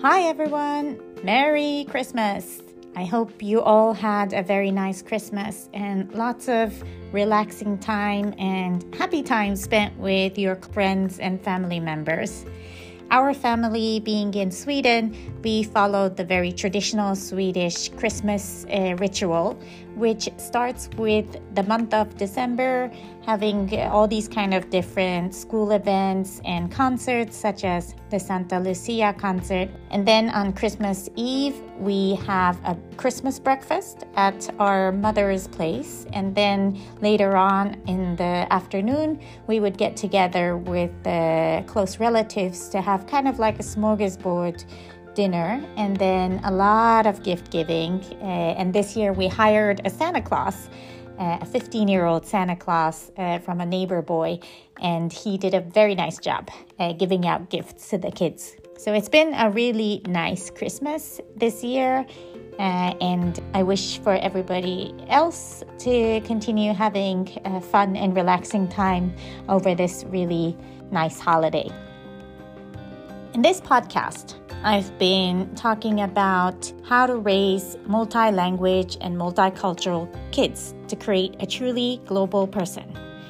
Hi everyone! Merry Christmas! I hope you all had a very nice Christmas and lots of relaxing time and happy time spent with your friends and family members. Our family being in Sweden, we followed the very traditional Swedish Christmas ritual, which starts with the month of December, having all these kind of different school events and concerts, such as the Santa Lucia concert. And then on Christmas Eve, we have a Christmas breakfast at our mother's place. And then later on in the afternoon, we would get together with the close relatives to have kind of like a smorgasbord dinner, and then a lot of gift giving. And this year we hired a Santa Claus, a 15-year-old Santa Claus from a neighbor boy, and he did a very nice job giving out gifts to the kids. So it's been a really nice Christmas this year, and I wish for everybody else to continue having a fun and relaxing time over this really nice holiday. In this podcast, I've been talking about how to raise multi-language and multicultural kids to create a truly global person.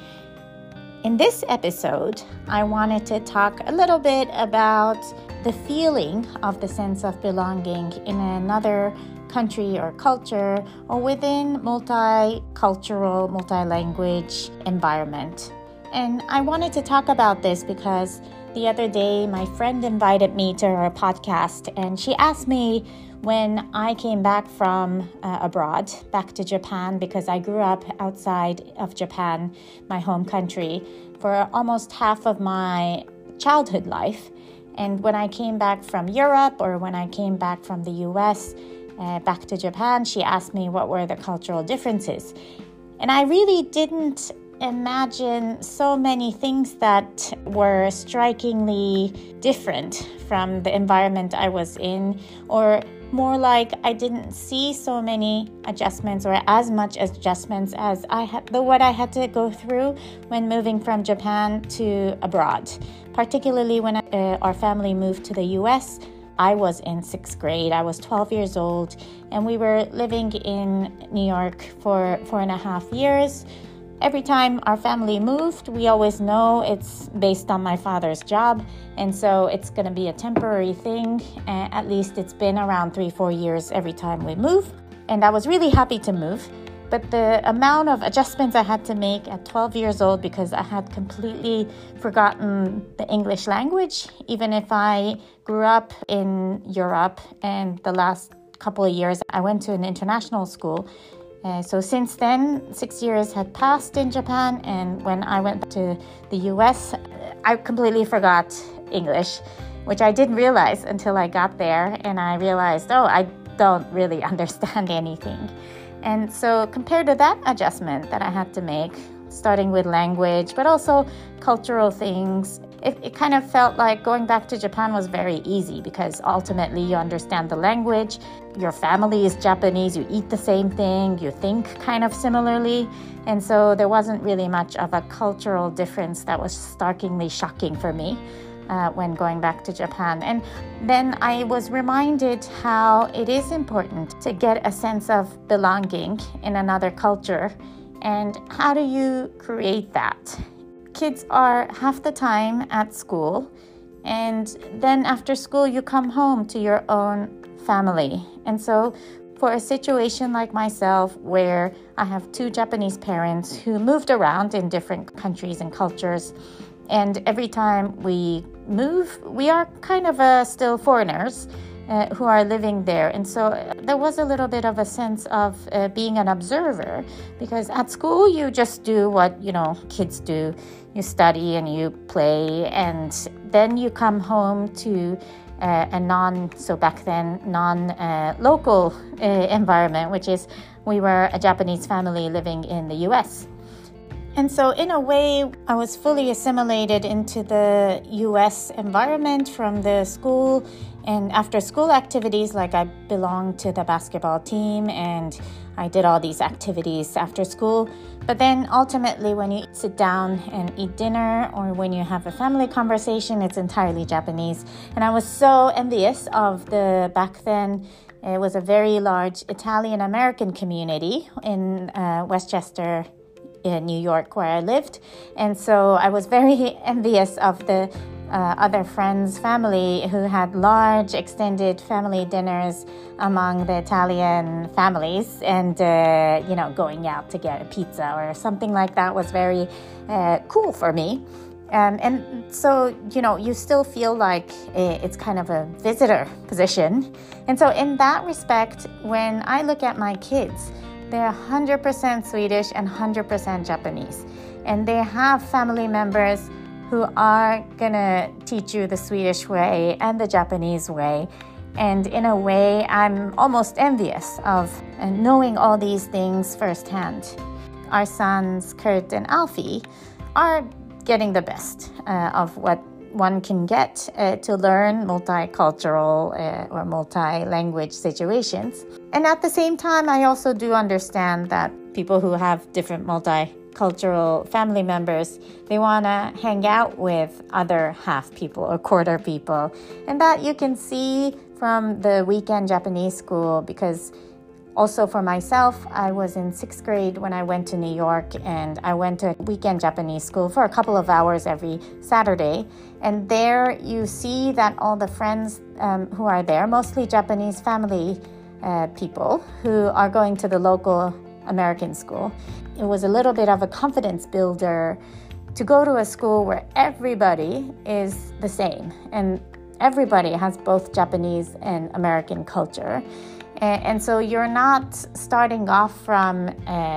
In this episode, I wanted to talk a little bit about the feeling of the sense of belonging in another country or culture or within multicultural, multi-language environment. And I wanted to talk about this because the other day, my friend invited me to her podcast, and she asked me when I came back from abroad, back to Japan, because I grew up outside of Japan, my home country, for almost half of my childhood life. And when I came back from Europe, or when I came back from the US, back to Japan, she asked me what were the cultural differences. And I really didn't imagine so many things that were strikingly different from the environment I was in, or more like I didn't see so many adjustments or as much adjustments as what I had to go through when moving from Japan to abroad. Particularly when our family moved to the US, I was in 6th grade. I was 12 years old, and we were living in New York for 4.5 years. Every time our family moved, we always know it's based on my father's job, and so it's going to be a temporary thing. At least it's been around 3-4 years every time we move, and I was really happy to move. But the amount of adjustments I had to make at 12 years old, because I had completely forgotten the English language, even if I grew up in Europe, and the last couple of years I went to an international school. So since then, 6 years had passed in Japan, and when I went to the US, I completely forgot English, which I didn't realize until I got there, and I realized, I don't really understand anything. And so compared to that adjustment that I had to make, starting with language, but also cultural things, it kind of felt like going back to Japan was very easy, because ultimately you understand the language, your family is Japanese, you eat the same thing, you think kind of similarly, and so there wasn't really much of a cultural difference that was starkly shocking for me when going back to Japan. And then I was reminded how it is important to get a sense of belonging in another culture, and how do you create that? Kids are half the time at school, and then after school you come home to your own family. And so for a situation like myself, where I have 2 Japanese parents who moved around in different countries and cultures, and every time we move, we are kind of still foreigners who are living there. And so there was a little bit of a sense of being an observer, because at school you just do what kids do. You study and you play, and then you come home to a non-local environment, which is we were a Japanese family living in the US. And so in a way, I was fully assimilated into the US environment from the school and after school activities, like I belonged to the basketball team and I did all these activities after school. But then ultimately when you sit down and eat dinner or when you have a family conversation, it's entirely Japanese. And I was so envious of back then, it was a very large Italian-American community in Westchester, in New York, where I lived. And so I was very envious of the other friends' family who had large extended family dinners among the Italian families and, going out to get a pizza or something like that was very cool for me. And so, you still feel like it's kind of a visitor position. And so in that respect, when I look at my kids, they're 100% Swedish and 100% Japanese. And they have family members who are gonna teach you the Swedish way and the Japanese way. And in a way, I'm almost envious of knowing all these things firsthand. Our sons, Kurt and Alfie, are getting the best of what one can get to learn multicultural or multi-language situations. And at the same time, I also do understand that people who have different multicultural family members, they want to hang out with other half people or quarter people. And that you can see from the weekend Japanese school, because also for myself, I was in 6th grade when I went to New York, and I went to weekend Japanese school for a couple of hours every Saturday. And there you see that all the friends who are there, mostly Japanese family people who are going to the local American school. It was a little bit of a confidence builder to go to a school where everybody is the same and everybody has both Japanese and American culture. And so you're not starting off from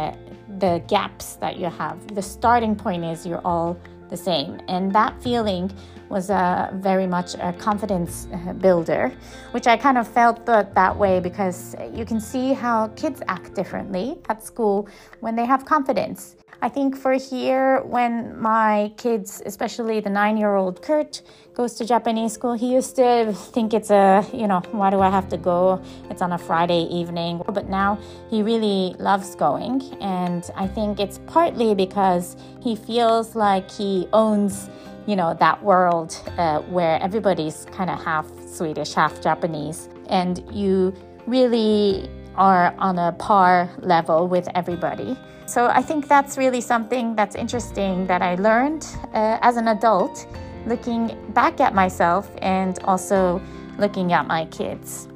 the gaps that you have. The starting point is you're all the same. And that feeling was very much a confidence builder, which I kind of felt that way because you can see how kids act differently at school when they have confidence. I think for here, when my kids, especially the 9-year-old Kurt, goes to Japanese school, he used to think it's why do I have to go? It's on a Friday evening. But now he really loves going. And I think it's partly because he feels like he owns, that world where everybody's kind of half Swedish, half Japanese. And you really are on a par level with everybody. So I think that's really something that's interesting that I learned as an adult, looking back at myself and also looking at my kids.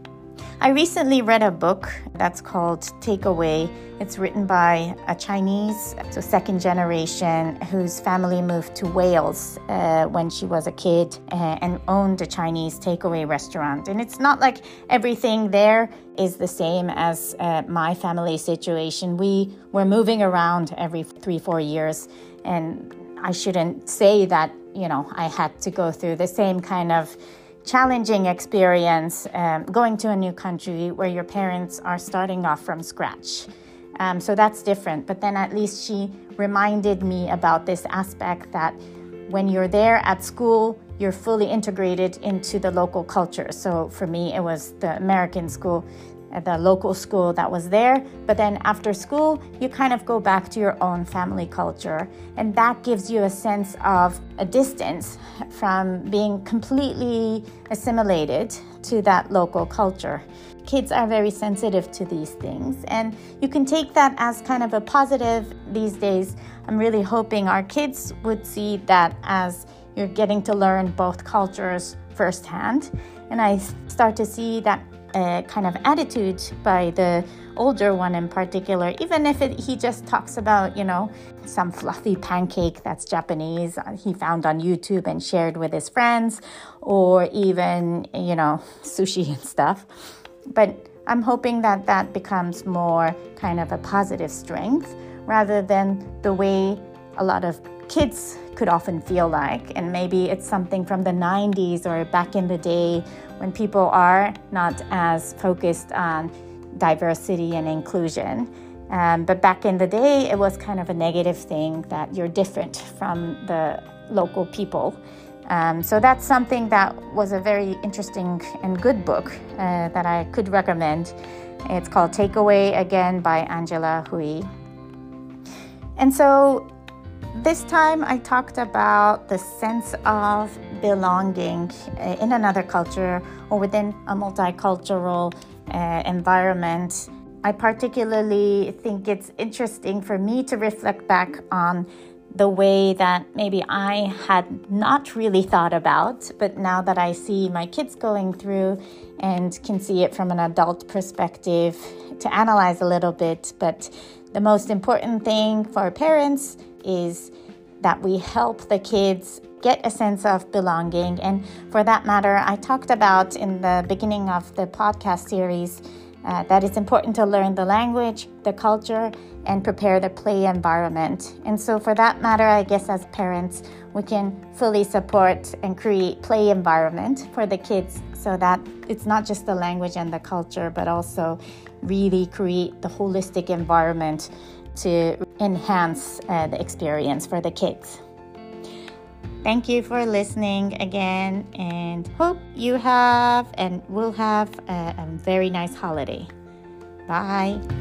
I recently read a book that's called Takeaway. It's written by a Chinese, so second generation, whose family moved to Wales when she was a kid and owned a Chinese takeaway restaurant. And it's not like everything there is the same as my family situation. We were moving around every 3-4 years, and I shouldn't say that, I had to go through the same kind of challenging experience going to a new country where your parents are starting off from scratch. So that's different. But then at least she reminded me about this aspect that when you're there at school, you're fully integrated into the local culture. So for me, it was the American school, the local school that was there. But then after school, you kind of go back to your own family culture. And that gives you a sense of a distance from being completely assimilated to that local culture. Kids are very sensitive to these things. And you can take that as kind of a positive these days. I'm really hoping our kids would see that as you're getting to learn both cultures firsthand. And I start to see that kind of attitude by the older one in particular, even if he just talks about, some fluffy pancake that's Japanese he found on YouTube and shared with his friends, or even, sushi and stuff. But I'm hoping that that becomes more kind of a positive strength rather than the way a lot of kids could often feel like. And maybe it's something from the 90s or back in the day when people are not as focused on diversity and inclusion. But back in the day, it was kind of a negative thing that you're different from the local people. So that's something that was a very interesting and good book that I could recommend. It's called Takeaway, again, by Angela Hui. And so this time I talked about the sense of belonging in another culture or within a multicultural environment. I particularly think it's interesting for me to reflect back on the way that maybe I had not really thought about, but now that I see my kids going through and can see it from an adult perspective, to analyze a little bit. But the most important thing for parents is that we help the kids get a sense of belonging. And for that matter, I talked about in the beginning of the podcast series that it's important to learn the language, the culture, and prepare the play environment. And so for that matter, I guess as parents, we can fully support and create play environment for the kids so that it's not just the language and the culture, but also really create the holistic environment to enhance the experience for the kids. Thank you for listening again, and hope you have and will have a very nice holiday. Bye.